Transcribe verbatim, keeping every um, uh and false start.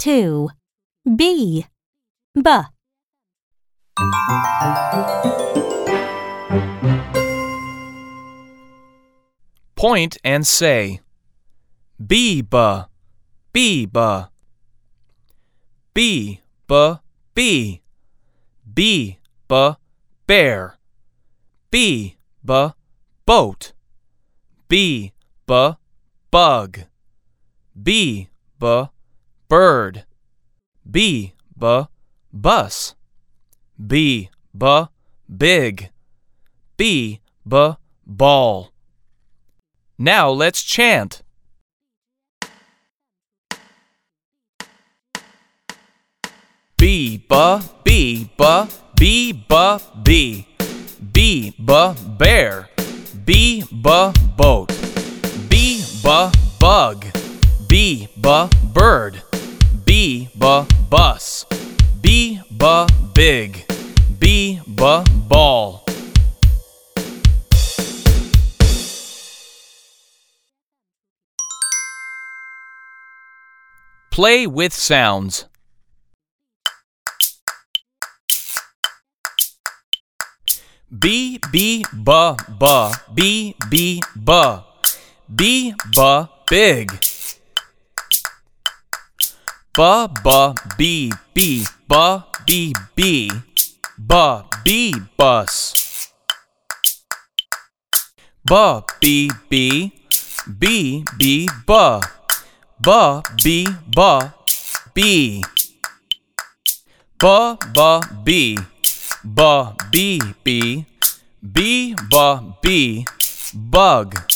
two. B. B. Point and say, B-ba, B-ba. B-ba, B. B-ba, bear. B-ba, boat. B-ba, bug. B-ba, bird. B-ba, bus. B-ba, big. B-ba, ball. Now let's chant. B-ba, B-ba, B-ba, B. B-ba, bear. B-ba, boat. B-ba, bug. B-ba, bird. B-ba, bus. B-ba, big. B-ba, ball. Play with sounds. B, B, ba, ba, B, B, ba. B, ba, big. Ba, ba, B, B, ba, B, B. Ba, B, bus. Ba, B, B. B, B, ba. Ba, B, ba, B. Ba, ba, B. Ba, B, B. B, ba, B. Bug.